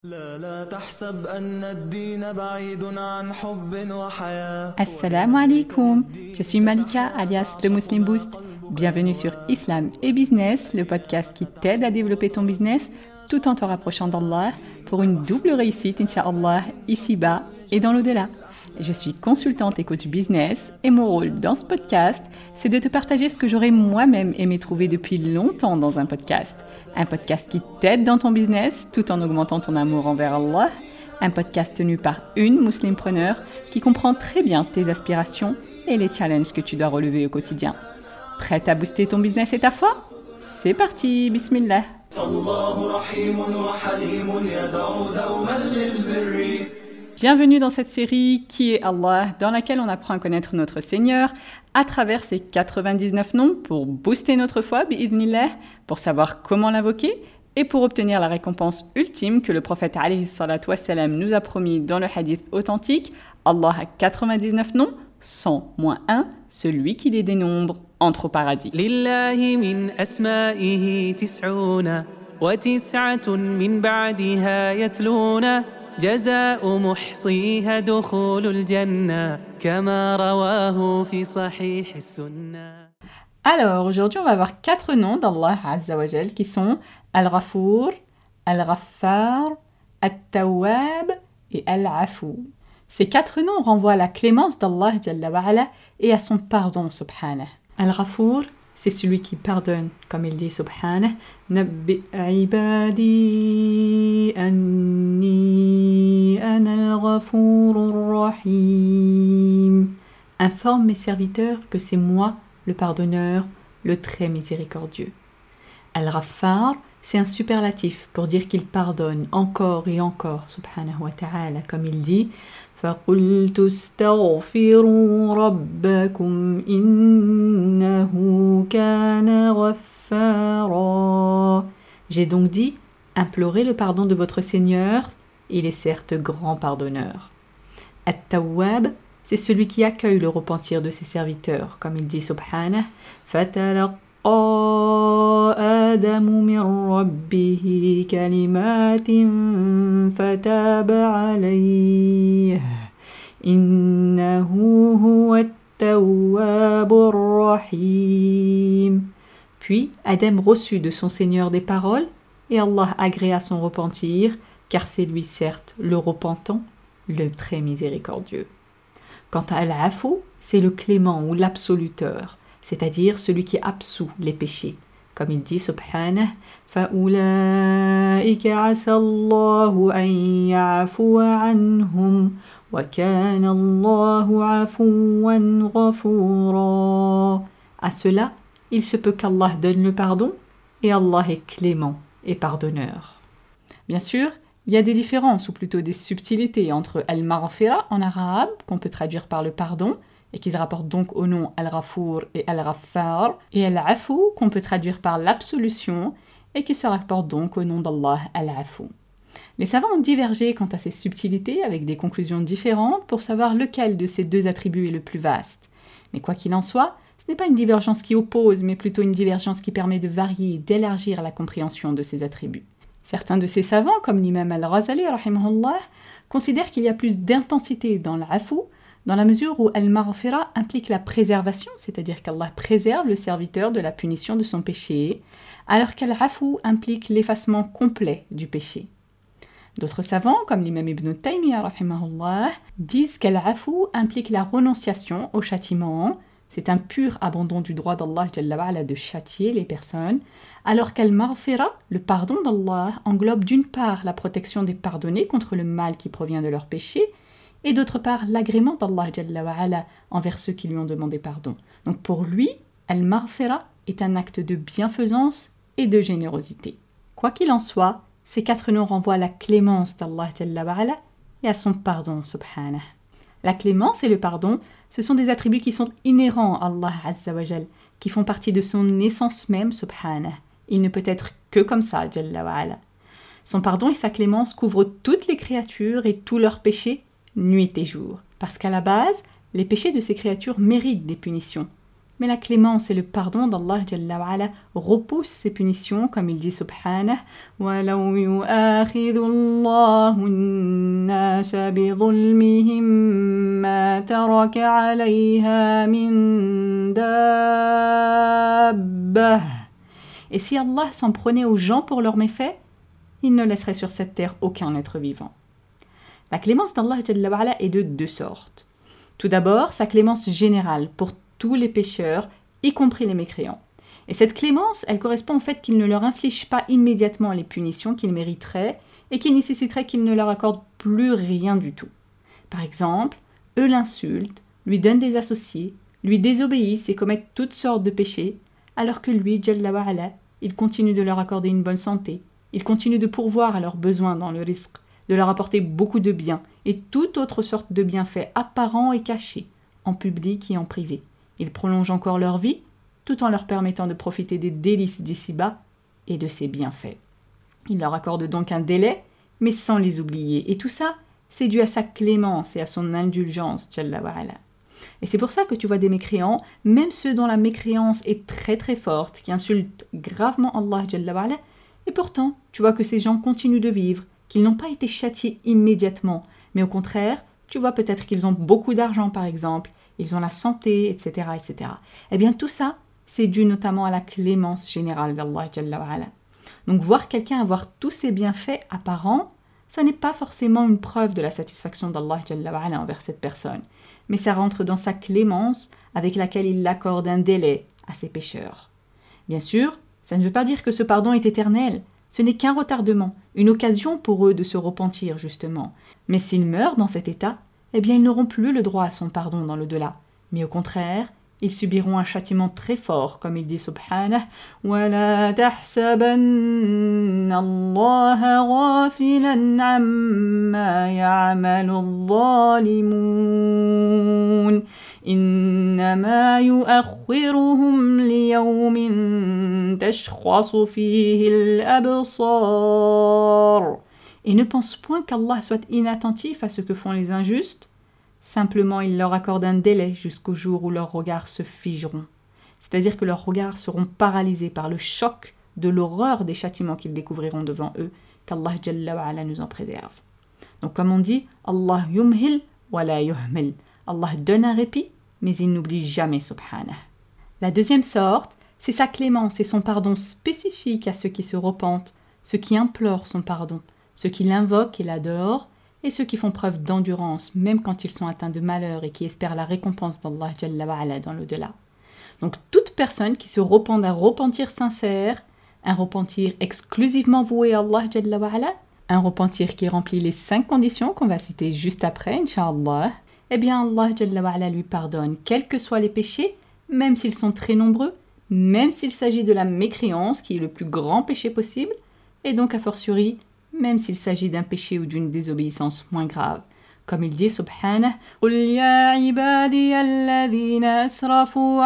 Assalamu alaikum, je suis Malika alias The Muslim Boost. Bienvenue sur Islam et Business, le podcast qui t'aide à développer ton business tout en te rapprochant d'Allah pour une double réussite, Inch'Allah, ici-bas et dans l'au-delà. Je suis consultante et coach business et mon rôle dans ce podcast, c'est de te partager ce que j'aurais moi-même aimé trouver depuis longtemps dans un podcast. Un podcast qui t'aide dans ton business tout en augmentant ton amour envers Allah. Un podcast tenu par une muslimpreneur qui comprend très bien tes aspirations et les challenges que tu dois relever au quotidien. Prête à booster ton business et ta foi ? C'est parti, bismillah. Bienvenue dans cette série Qui est Allah, dans laquelle on apprend à connaître notre Seigneur à travers ses 99 noms pour booster notre foi, bi'idhnillah, pour savoir comment l'invoquer et pour obtenir la récompense ultime que le prophète alayhi salatu wassalam nous a promis dans le hadith authentique. Allah a 99 noms, 100 moins 1, celui qui les dénombre entre au paradis. Lillahi min asma'ihi tis'una wa tis'atun min ba'diha yatluna جزاء محصيها دخول الجنة كما رواه في صحيح السنة. Alors, aujourd'hui, on va avoir 4 noms d'Allah Azza wa Jal qui sont Al-Ghafour, Al-Ghaffar, At-Tawwab et Al-Afou. Ces 4 noms renvoient à la clémence d'Allah Jalla wa Ala et à son pardon, subhanah. Al-Ghafour, c'est celui qui pardonne, comme il dit subhanah, Nabbi ibadi anni ana al-Ghafourur Rahim. Informe mes serviteurs que c'est moi, le pardonneur, le très miséricordieux. Al-Ghaffar, c'est un superlatif pour dire qu'il pardonne encore et encore, subhanahu wa ta'ala, comme il dit فَقُلْتُ اسْتَغْفِرُوا رَبَّكُمْ إِنَّهُ كَانَ غَفَّارًا. J'ai donc dit, implorez le pardon de votre Seigneur, il est certes grand pardonneur. At-Tawwab, c'est celui qui accueille le repentir de ses serviteurs, comme il dit subhanah, فَتَلَقَّى آدَمُ مِنْ رَبِّهِ كَلِمَاتٍ فَتَابَ عَلَيْهِ إِنَّهُ هُوَ التَّوَّابُ الرَّحِيمُ. Puis Adam reçut de son Seigneur des paroles, et Allah agréa son repentir, car c'est lui certes le repentant, le très miséricordieux. Quant à Al-Afou, c'est le clément ou l'absoluteur, c'est-à-dire celui qui absout les péchés. Comme il dit subhanah, فَأُولَٰئِكَ عَسَى اللَّهُ أَن يَعْفُوَ عَنْهُمْ وَكَانَ اللَّهُ عَفُوًّا غَفُورًا. À cela, il se peut qu'Allah donne le pardon, et Allah est clément et pardonneur. Bien sûr, il y a des différences, ou plutôt des subtilités, entre Al-Maghfira en arabe, qu'on peut traduire par le pardon, et qui se rapporte donc au nom Al-Ghafour et Al-Ghaffar, et Al-Afou, qu'on peut traduire par l'absolution, et qui se rapporte donc au nom d'Allah Al-Afou. Les savants ont divergé quant à ces subtilités, avec des conclusions différentes, pour savoir lequel de ces deux attributs est le plus vaste. Mais quoi qu'il en soit, ce n'est pas une divergence qui oppose, mais plutôt une divergence qui permet de varier et d'élargir la compréhension de ces attributs. Certains de ces savants, comme l'imam Al-Ghazali, rahimahullah, considèrent qu'il y a plus d'intensité dans l'Afou, dans la mesure où Al-Maghfira implique la préservation, c'est-à-dire qu'Allah préserve le serviteur de la punition de son péché, alors qu'Al-Afou implique l'effacement complet du péché. D'autres savants, comme l'imam Ibn Taymiyyah, rahimahullah, disent qu'Al-Afou implique la renonciation au châtiment, c'est un pur abandon du droit d'Allah Jalla wa Ala de châtier les personnes, alors qu'Al-Maghfira, le pardon d'Allah, englobe d'une part la protection des pardonnés contre le mal qui provient de leurs péchés, et d'autre part l'agrément d'Allah Jalla wa Ala envers ceux qui lui ont demandé pardon. Donc pour lui, Al-Maghfira est un acte de bienfaisance et de générosité. Quoi qu'il en soit, ces 4 noms renvoient à la clémence d'Allah Jalla wa Ala et à son pardon, subhanah. La clémence et le pardon, ce sont des attributs qui sont inhérents à Allah Azza wa Jal, qui font partie de son essence même, subhanah. Il ne peut être que comme ça, Jalla wa Ala. Son pardon et sa clémence couvrent toutes les créatures et tous leurs péchés, nuit et jour. Parce qu'à la base, les péchés de ces créatures méritent des punitions. Mais la clémence et le pardon d'Allah Jalla wa Ala repoussent ces punitions, comme il dit subhanah وَلَوْ يُؤَاخِذُ اللَّهُ النَّاسَ بِظُلْمِهِمْ مَا تَرَكَ عَلَيْهَا مِن دَابَّةٍ. Et si Allah s'en prenait aux gens pour leurs méfaits, il ne laisserait sur cette terre aucun être vivant. La clémence d'Allah Jalla wa Ala est de deux sortes. Tout d'abord, sa clémence générale pour tous les pécheurs, y compris les mécréants. Et cette clémence, elle correspond au fait qu'il ne leur inflige pas immédiatement les punitions qu'ils mériteraient et qui nécessiteraient qu'il ne leur accorde plus rien du tout. Par exemple, eux l'insultent, lui donnent des associés, lui désobéissent et commettent toutes sortes de péchés, alors que lui, Jalla wa Ala, il continue de leur accorder une bonne santé, il continue de pourvoir à leurs besoins dans le rizq, de leur apporter beaucoup de biens et toute autre sorte de bienfaits apparents et cachés, en public et en privé. Il prolonge encore leur vie, tout en leur permettant de profiter des délices d'ici-bas et de ses bienfaits. Il leur accorde donc un délai, mais sans les oublier. Et tout ça, c'est dû à sa clémence et à son indulgence, Jalla wa Ala. Et c'est pour ça que tu vois des mécréants, même ceux dont la mécréance est très très forte, qui insultent gravement Allah Jalla wa Ala, et pourtant, tu vois que ces gens continuent de vivre, qu'ils n'ont pas été châtiés immédiatement, mais au contraire, tu vois peut-être qu'ils ont beaucoup d'argent par exemple, ils ont la santé, etc., etc. Eh bien tout ça, c'est dû notamment à la clémence générale d'Allah Jalla wa Ala. Donc voir quelqu'un avoir tous ses bienfaits apparents, ça n'est pas forcément une preuve de la satisfaction d'Allah Jalla wa Ala envers cette personne, mais ça rentre dans sa clémence avec laquelle il accorde un délai à ses pécheurs. Bien sûr, ça ne veut pas dire que ce pardon est éternel, ce n'est qu'un retardement, une occasion pour eux de se repentir justement. Mais s'ils meurent dans cet état, eh bien ils n'auront plus le droit à son pardon dans l'au-delà. Mais au contraire, ils subiront un châtiment très fort, comme il dit subhanah وَلَا تَحْسَبَنَّ اللَّهَ غَافِلًا عَمَّا يَعْمَلُ الظَّالِمُونَ إِنَّمَا يُؤَخِّرُهُمْ لِيَوْمٍ تَشْخَصُ فِيهِ الْأَبْصَارُ. Et ne pense point qu'Allah soit inattentif à ce que font les injustes. Simplement, il leur accorde un délai jusqu'au jour où leurs regards se figeront. C'est-à-dire que leurs regards seront paralysés par le choc de l'horreur des châtiments qu'ils découvriront devant eux, qu'Allah Jalla wa Ala nous en préserve. Donc comme on dit, Allah yumhil wa la yuhmil. Allah donne un répit, mais il n'oublie jamais, subhanah. La deuxième sorte, c'est sa clémence et son pardon spécifique à ceux qui se repentent, ceux qui implorent son pardon, ceux qui l'invoquent et l'adorent, et ceux qui font preuve d'endurance, même quand ils sont atteints de malheur et qui espèrent la récompense d'Allah Jalla wa Ala dans l'au-delà. Donc toute personne qui se repent d'un repentir sincère, un repentir exclusivement voué à Allah Jalla wa Ala, un repentir qui remplit les 5 conditions qu'on va citer juste après, Inch'Allah, eh bien Allah Jalla wa Ala lui pardonne, quels que soient les péchés, même s'ils sont très nombreux, même s'il s'agit de la mécréance, qui est le plus grand péché possible, et donc a fortiori, même s'il s'agit d'un péché ou d'une désobéissance moins grave. Comme il dit, subhanah, قُلْ يَا عِبَادِيَ الَّذِينَ أَسْرَفُوا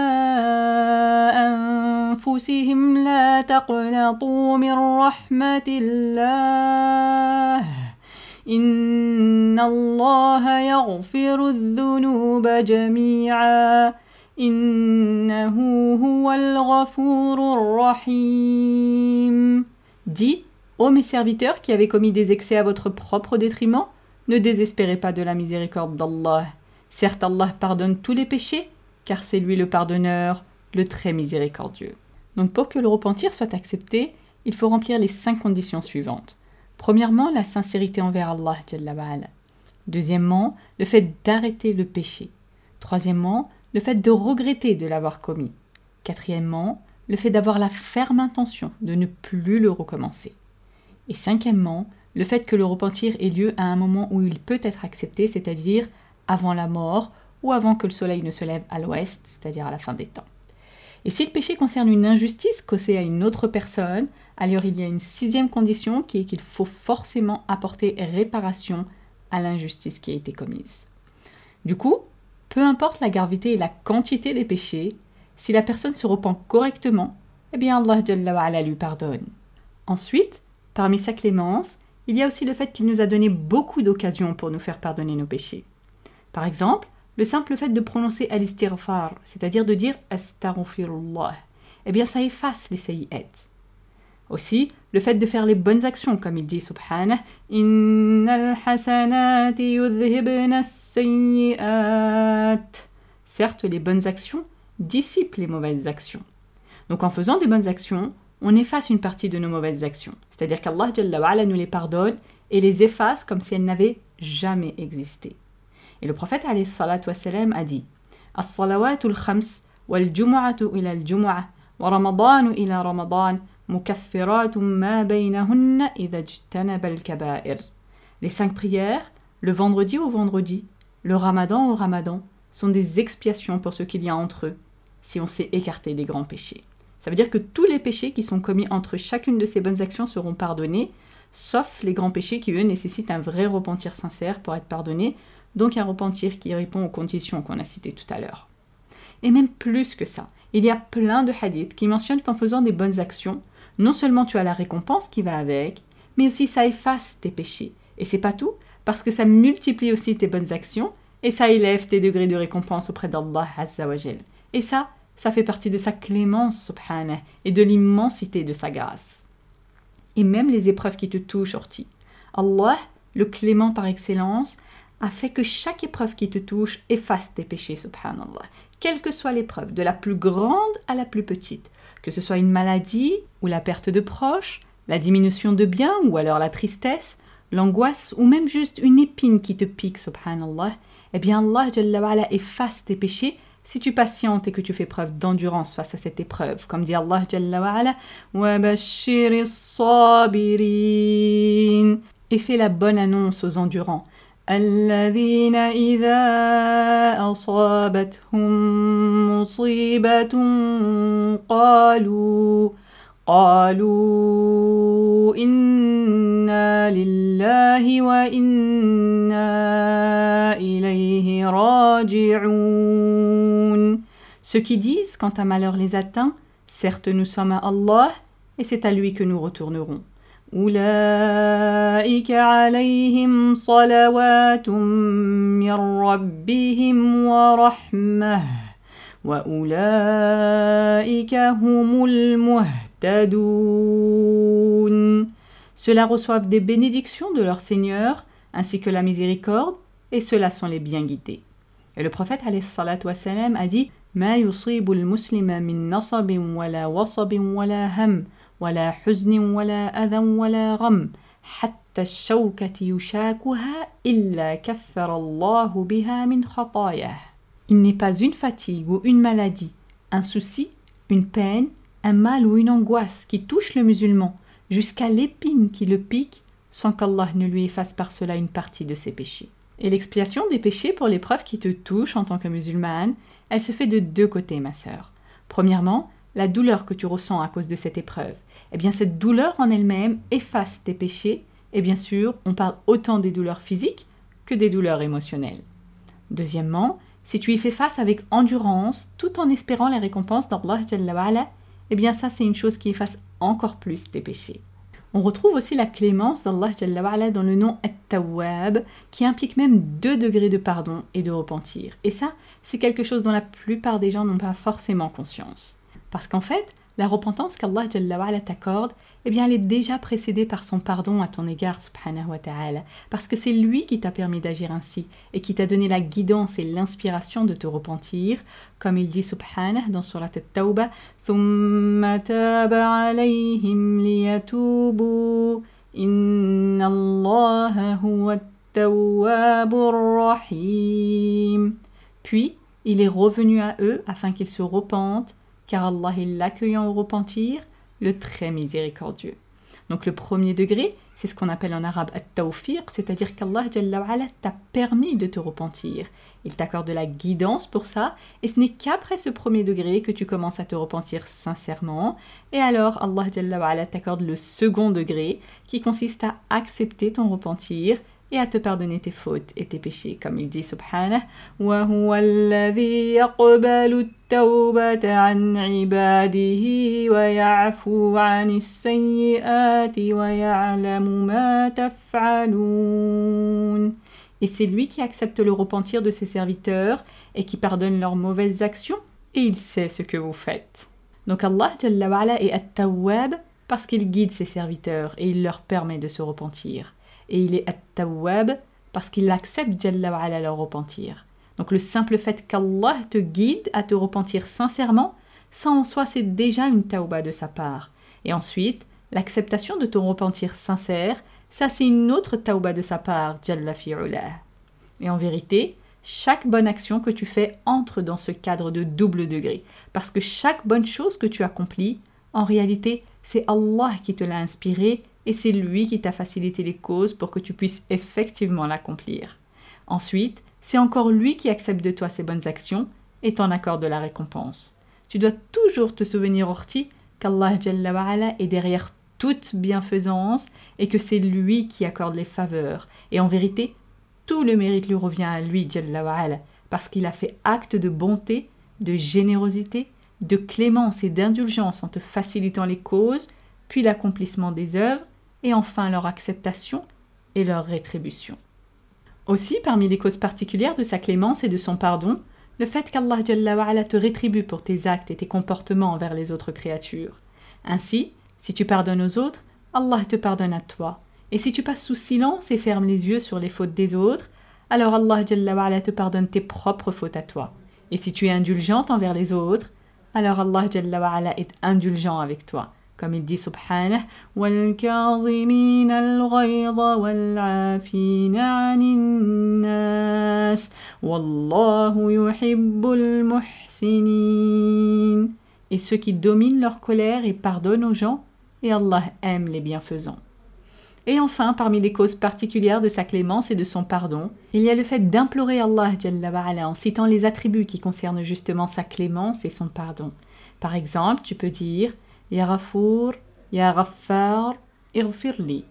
عَلَىٰ أَنفُسِهِمْ لَا تَقْنَطُوا مِنْ رَحْمَةِ اللَّهِ إِنَّ اللَّهَ يَغْفِرُ الذُّنُوبَ جَمِيعًا إِنَّهُ هُوَ الْغَفُورُ الرَّحِيمُ. Dis, ô mes serviteurs qui avez commis des excès à votre propre détriment, ne désespérez pas de la miséricorde d'Allah. Certes, Allah pardonne tous les péchés, car c'est lui le pardonneur, le très miséricordieux. Donc pour que le repentir soit accepté, il faut remplir les 5 conditions suivantes. Premièrement, la sincérité envers Allah Jalla wa Ala. Deuxièmement, le fait d'arrêter le péché. Troisièmement, le fait de regretter de l'avoir commis. Quatrièmement, le fait d'avoir la ferme intention de ne plus le recommencer. Et cinquièmement, le fait que le repentir ait lieu à un moment où il peut être accepté, c'est-à-dire avant la mort ou avant que le soleil ne se lève à l'ouest, c'est-à-dire à la fin des temps. Et si le péché concerne une injustice causée à une autre personne, alors il y a une 6e condition qui est qu'il faut forcément apporter réparation à l'injustice qui a été commise. Du coup, peu importe la gravité et la quantité des péchés, si la personne se repent correctement, eh bien Allah Jalla wa Ala lui pardonne. Ensuite, parmi sa clémence, il y a aussi le fait qu'il nous a donné beaucoup d'occasions pour nous faire pardonner nos péchés. Par exemple, le simple fait de prononcer al-istighfar, c'est-à-dire de dire astaghfirullah, eh bien ça efface les sayyi'at. Aussi, le fait de faire les bonnes actions, comme il dit subhanah, innal hasanati yudhhibna as-sayyi'at. Certes, les bonnes actions dissipent les mauvaises actions. Donc en faisant des bonnes actions, on efface une partie de nos mauvaises actions. C'est-à-dire qu'Allah Jalla wa Ala nous les pardonne et les efface comme si elles n'avaient jamais existé. Et le prophète alayhi salatu wassalam a dit As-salawatul khams wal jumu'atu ila al-jumu'ah wa ramadanu ila ramadan mukaffiratun ma baynahunna idha ijtanaba al-kaba'ir. Les 5 prières, le vendredi au vendredi, le ramadan au ramadan, sont des expiations pour ce qu'il y a entre eux, si on s'est écarté des grands péchés. Ça veut dire que tous les péchés qui sont commis entre chacune de ces bonnes actions seront pardonnés, sauf les grands péchés qui, eux, nécessitent un vrai repentir sincère pour être pardonnés, donc un repentir qui répond aux conditions qu'on a citées tout à l'heure. Et même plus que ça, il y a plein de hadiths qui mentionnent qu'en faisant des bonnes actions, non seulement tu as la récompense qui va avec, mais aussi ça efface tes péchés. Et c'est pas tout, parce que ça multiplie aussi tes bonnes actions, et ça élève tes degrés de récompense auprès d'Allah Azza wa Jal. Et ça fait partie de sa clémence, subhanah, et de l'immensité de sa grâce. Et même les épreuves qui te touchent, Orti. Allah, le clément par excellence, a fait que chaque épreuve qui te touche efface tes péchés, subhanallah. Quelle que soit l'épreuve, de la plus grande à la plus petite, que ce soit une maladie ou la perte de proches, la diminution de biens ou alors la tristesse, l'angoisse ou même juste une épine qui te pique, subhanallah, eh bien Allah Jalla wa Ala efface tes péchés si tu patientes et que tu fais preuve d'endurance face à cette épreuve. Comme dit Allah Jalla wa Ala, wa bashiris sabirin, et fais la bonne annonce aux endurants. الذين إذا أصابتهم مصيبة قالوا إنا لله وإنا إليه راجعون. Ceux qui disent quand un malheur les atteint, certes nous sommes à Allah et c'est à lui que nous retournerons. أولئك عليهم صلوات من ربهم ورحمة وأولئك هم المهتدون. Ceux-là reçoivent des bénédictions de leur Seigneur ainsi que la miséricorde et ceux-là sont les bien guidés. Et le prophète alayhi salatu wassalam a dit ما يصيب المسلم من نصب ولا وصب ولا هم ولا حزن ولا أذى ولا غم حتى الشوكة يشاكها إلا كفر الله بها من خطاياه. Il n'est pas une fatigue ou une maladie, un souci, une peine, un mal ou une angoisse qui touche le musulman jusqu'à l'épine qui le pique sans qu'Allah ne lui efface par cela une partie de ses péchés. Et l'expiation des péchés pour l'épreuve qui te touche en tant que musulmane, elle se fait de 2 côtés, ma sœur. Premièrement, la douleur que tu ressens à cause de cette épreuve. Eh bien, cette douleur en elle-même efface tes péchés. Et bien sûr, on parle autant des douleurs physiques que des douleurs émotionnelles. Deuxièmement, si tu y fais face avec endurance, tout en espérant la récompense d'Allah Jalla wa Ala, eh bien ça, c'est une chose qui efface encore plus tes péchés. On retrouve aussi la clémence d'Allah Jalla wa Ala dans le nom At-Tawwab, qui implique même 2 degrés de pardon et de repentir. Et ça, c'est quelque chose dont la plupart des gens n'ont pas forcément conscience. Parce qu'en fait, la repentance qu'Allah Jalla wa Ala t'accorde, eh bien, elle est déjà précédée par son pardon à ton égard, subhanahu wa ta'ala. Parce que c'est lui qui t'a permis d'agir ainsi et qui t'a donné la guidance et l'inspiration de te repentir. Comme il dit subhanahu dans surat At-Tawbah, ثُمَّ تَابَ عَلَيْهِمْ لِيَتُوبُوا إِنَّ اللَّهَ هُوَ التَّوَّابُ الرَّحِيمُ. Puis, il est revenu à eux afin qu'ils se repentent, car Allah est l'accueillant au repentir, le très miséricordieux. Donc le premier degré, c'est ce qu'on appelle en arabe at-tawfiq, c'est-à-dire qu'Allah Jalla wa Ala t'a permis de te repentir. Il t'accorde de la guidance pour ça, et ce n'est qu'après ce premier degré que tu commences à te repentir sincèrement. Et alors Allah Jalla wa Ala t'accorde le second degré, qui consiste à accepter ton repentir et à te pardonner tes fautes et tes péchés, comme il dit subhanah wa huwa alladhi yaqbalu at-tawbata 'an 'ibadihi wa ya'fu 'anis sayyi'ati wa ya'lamu ma taf'alun. Et c'est lui qui accepte le repentir de ses serviteurs et qui pardonne leurs mauvaises actions. Et il sait ce que vous faites. Donc Allah Jalla wa Ala est At-Tawwab parce qu'il guide ses serviteurs et il leur permet de se repentir. Et il est At-Tawwab parce qu'il accepte Jalla wa Ala leur repentir. Donc le simple fait qu'Allah te guide à te repentir sincèrement, ça en soi c'est déjà une tawba de sa part. Et ensuite, l'acceptation de ton repentir sincère, ça c'est une autre tawba de sa part, Jalla fi'ulah. Et en vérité, chaque bonne action que tu fais entre dans ce cadre de double degré. Parce que chaque bonne chose que tu accomplis, en réalité, c'est Allah qui te l'a inspiré et c'est lui qui t'a facilité les causes pour que tu puisses effectivement l'accomplir. Ensuite, c'est encore lui qui accepte de toi ces bonnes actions et t'en accorde la récompense. Tu dois toujours te souvenir, Orti, qu'Allah Jalla wa Ala est derrière toute bienfaisance et que c'est lui qui accorde les faveurs. Et en vérité, tout le mérite lui revient à lui, Jalla wa Ala, parce qu'il a fait acte de bonté, de générosité, de clémence et d'indulgence en te facilitant les causes, puis l'accomplissement des œuvres, et enfin leur acceptation et leur rétribution. Aussi, parmi les causes particulières de sa clémence et de son pardon, le fait qu'Allah Jalla wa Ala te rétribue pour tes actes et tes comportements envers les autres créatures. Ainsi, si tu pardonnes aux autres, Allah te pardonne à toi. Et si tu passes sous silence et fermes les yeux sur les fautes des autres, alors Allah Jalla wa Ala te pardonne tes propres fautes à toi. Et si tu es indulgente envers les autres, alors Allah Jalla wa Ala est indulgent avec toi. Comme il dit subhanah, وَالْكَاظِمِينَ الْغَيْظَ وَالْعَافِينَ عَنِ النَّاسِ وَاللَّهُ يُحِبُّ الْمُحْسِنِينَ. Et ceux qui dominent leur colère et pardonnent aux gens, et Allah aime les bienfaisants. Et enfin, parmi les causes particulières de sa clémence et de son pardon, il y a le fait d'implorer Allah Jalla wa Ala en citant les attributs qui concernent justement sa clémence et son pardon. Par exemple, tu peux dire Ya Ghafour, Ya Ghaffar, Ighfirli.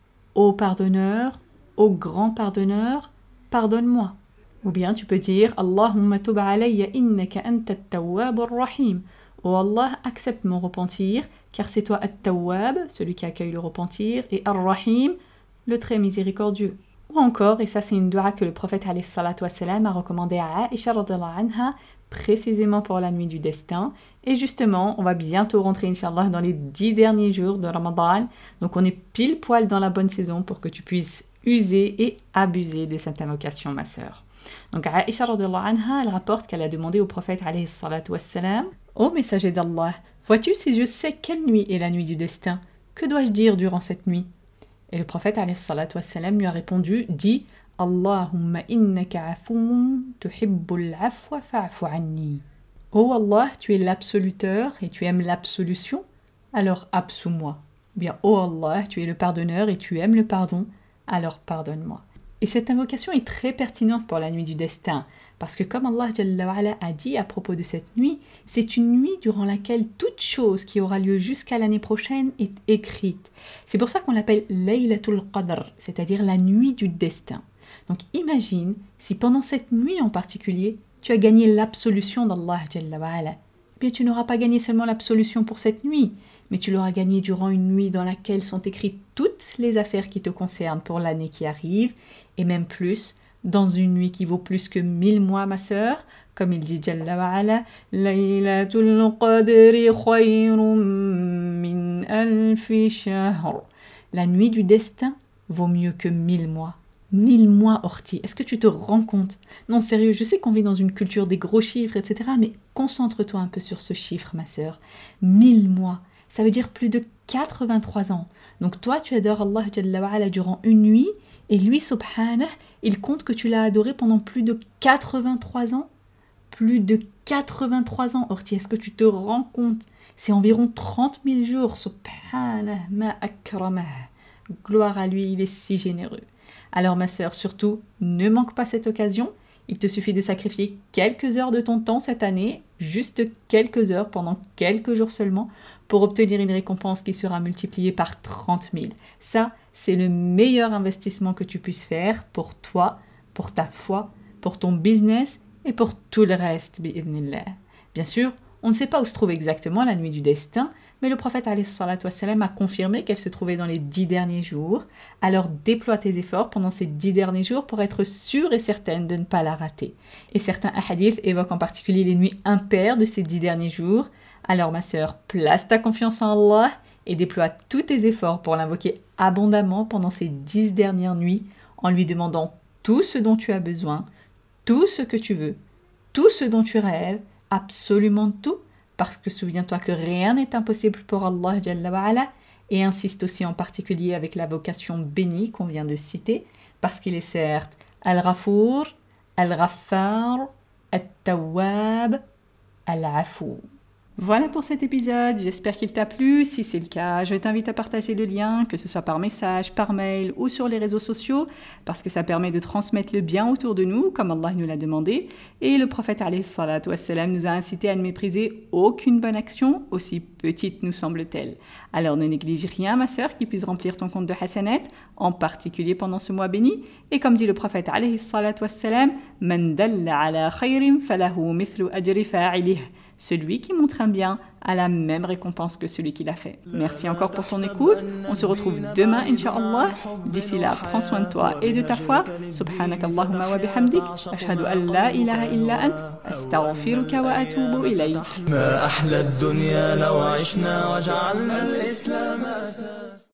Ô pardonneur, ô grand pardonneur, pardonne-moi. Ou bien tu peux dire Allahumma tub alayya innaka anta at-tawwab ar-rahim. Ô Allah, accepte mon repentir, car c'est toi At-Tawwab, celui qui accueille le repentir, et Ar-Rahim, le très miséricordieux. Ou encore, et ça c'est une dua que le prophète alayhi salatu wassalam a recommandé à Aisha radhiyallahu anha, précisément pour la nuit du destin. Et justement, on va bientôt rentrer, Inch'Allah, dans les 10 derniers jours de Ramadan. Donc on est pile poil dans la bonne saison pour que tu puisses user et abuser de cette invocation, ma sœur. Donc Aisha radhiyallahu anha, elle rapporte qu'elle a demandé au prophète alayhi salatu wassalam: Ô messager d'Allah, vois-tu si je sais quelle nuit est la nuit du destin? Que dois-je dire durant cette nuit? Et le prophète alayhi salatu wassalam lui a répondu: dis Allahumma innaka afoun tuhibbul afwa fa'fu anni. Ô Allah, tu es l'absoluteur et tu aimes l'absolution, alors absous-moi. Bien, ô Allah, tu es le pardonneur et tu aimes le pardon, alors pardonne-moi. Et cette invocation est très pertinente pour la nuit du destin, parce que comme Allah Jalla wa Ala a dit à propos de cette nuit, c'est une nuit durant laquelle toute chose qui aura lieu jusqu'à l'année prochaine est écrite. C'est pour ça qu'on l'appelle Laylatul Qadr, c'est-à-dire la nuit du destin. Donc imagine si pendant cette nuit en particulier, tu as gagné l'absolution d'Allah Jalla wa Ala. Eh bien tu n'auras pas gagné seulement l'absolution pour cette nuit, mais tu l'auras gagné durant une nuit dans laquelle sont écrites toutes les affaires qui te concernent pour l'année qui arrive, et même plus, dans une nuit qui vaut plus que 1000 mois, ma sœur, comme il dit Jalla wa Ala, Laylatul Qadri khayrun min alfi shahr. La nuit du destin vaut mieux que 1000 mois. 1000 mois, Orti, est-ce que tu te rends compte? Non, sérieux, je sais qu'on vit dans une culture des gros chiffres, etc., mais concentre-toi un peu sur ce chiffre, ma sœur. 1000 mois, ça veut dire plus de 83 ans. Donc toi, tu adores Allah Jalla wa Ala durant une nuit, et lui, subhanah, il compte que tu l'as adoré pendant plus de 83 ans. Plus de 83 ans, Orti, est-ce que tu te rends compte? C'est environ 30 000 jours, subhanah, ma akramah. Gloire à lui, il est si généreux. Alors ma sœur, surtout, ne manque pas cette occasion. Il te suffit de sacrifier quelques heures de ton temps cette année, juste quelques heures pendant quelques jours seulement, pour obtenir une récompense qui sera multipliée par 30 000. Ça, c'est le meilleur investissement que tu puisses faire pour toi, pour ta foi, pour ton business et pour tout le reste, bi'idhnillah. Bien sûr, on ne sait pas où se trouve exactement la nuit du destin, Mais le prophète alayhi salatu wassalam a confirmé qu'elle se trouvait dans les 10 derniers jours. Alors déploie tes efforts pendant ces 10 derniers jours pour être sûre et certaine de ne pas la rater. Et certains hadiths évoquent en particulier les nuits impaires de ces 10 derniers jours. Alors ma sœur, place ta confiance en Allah et déploie tous tes efforts pour l'invoquer abondamment pendant ces 10 dernières nuits en lui demandant tout ce dont tu as besoin, tout ce que tu veux, tout ce dont tu rêves, absolument tout, parce que souviens-toi que rien n'est impossible pour Allah Jalla wa Ala, et insiste aussi en particulier avec la vocation bénie qu'on vient de citer, parce qu'il est certes Al-Ghafour, Al-Ghaffar, Al-Tawwab, Al-Afou. Voilà pour cet épisode, j'espère qu'il t'a plu. Si c'est le cas, je t'invite à partager le lien, que ce soit par message, par mail ou sur les réseaux sociaux, parce que ça permet de transmettre le bien autour de nous, comme Allah nous l'a demandé. Et le prophète alayhi salatu wassalam nous a incité à ne mépriser aucune bonne action, aussi petite nous semble-t-elle. Alors ne néglige rien, ma sœur, qui puisse remplir ton compte de hasanat, en particulier pendant ce mois béni. Et comme dit le prophète alayhi salatu wassalam, « Man dalla ala khayrin falahu mithlu ajri fa'ilih » Celui qui montre un bien a la même récompense que celui qui l'a fait. Merci encore pour ton écoute. On se retrouve demain, Inch'Allah. D'ici là, prends soin de toi et de ta foi. Subhanak Allahumma wa bihamdik. Ashhadu an la ilaha illa ant. Astaghfiruka wa atubu ilayk. ما أحلى الدنيا لو عشنا وجعلنا الإسلام أساس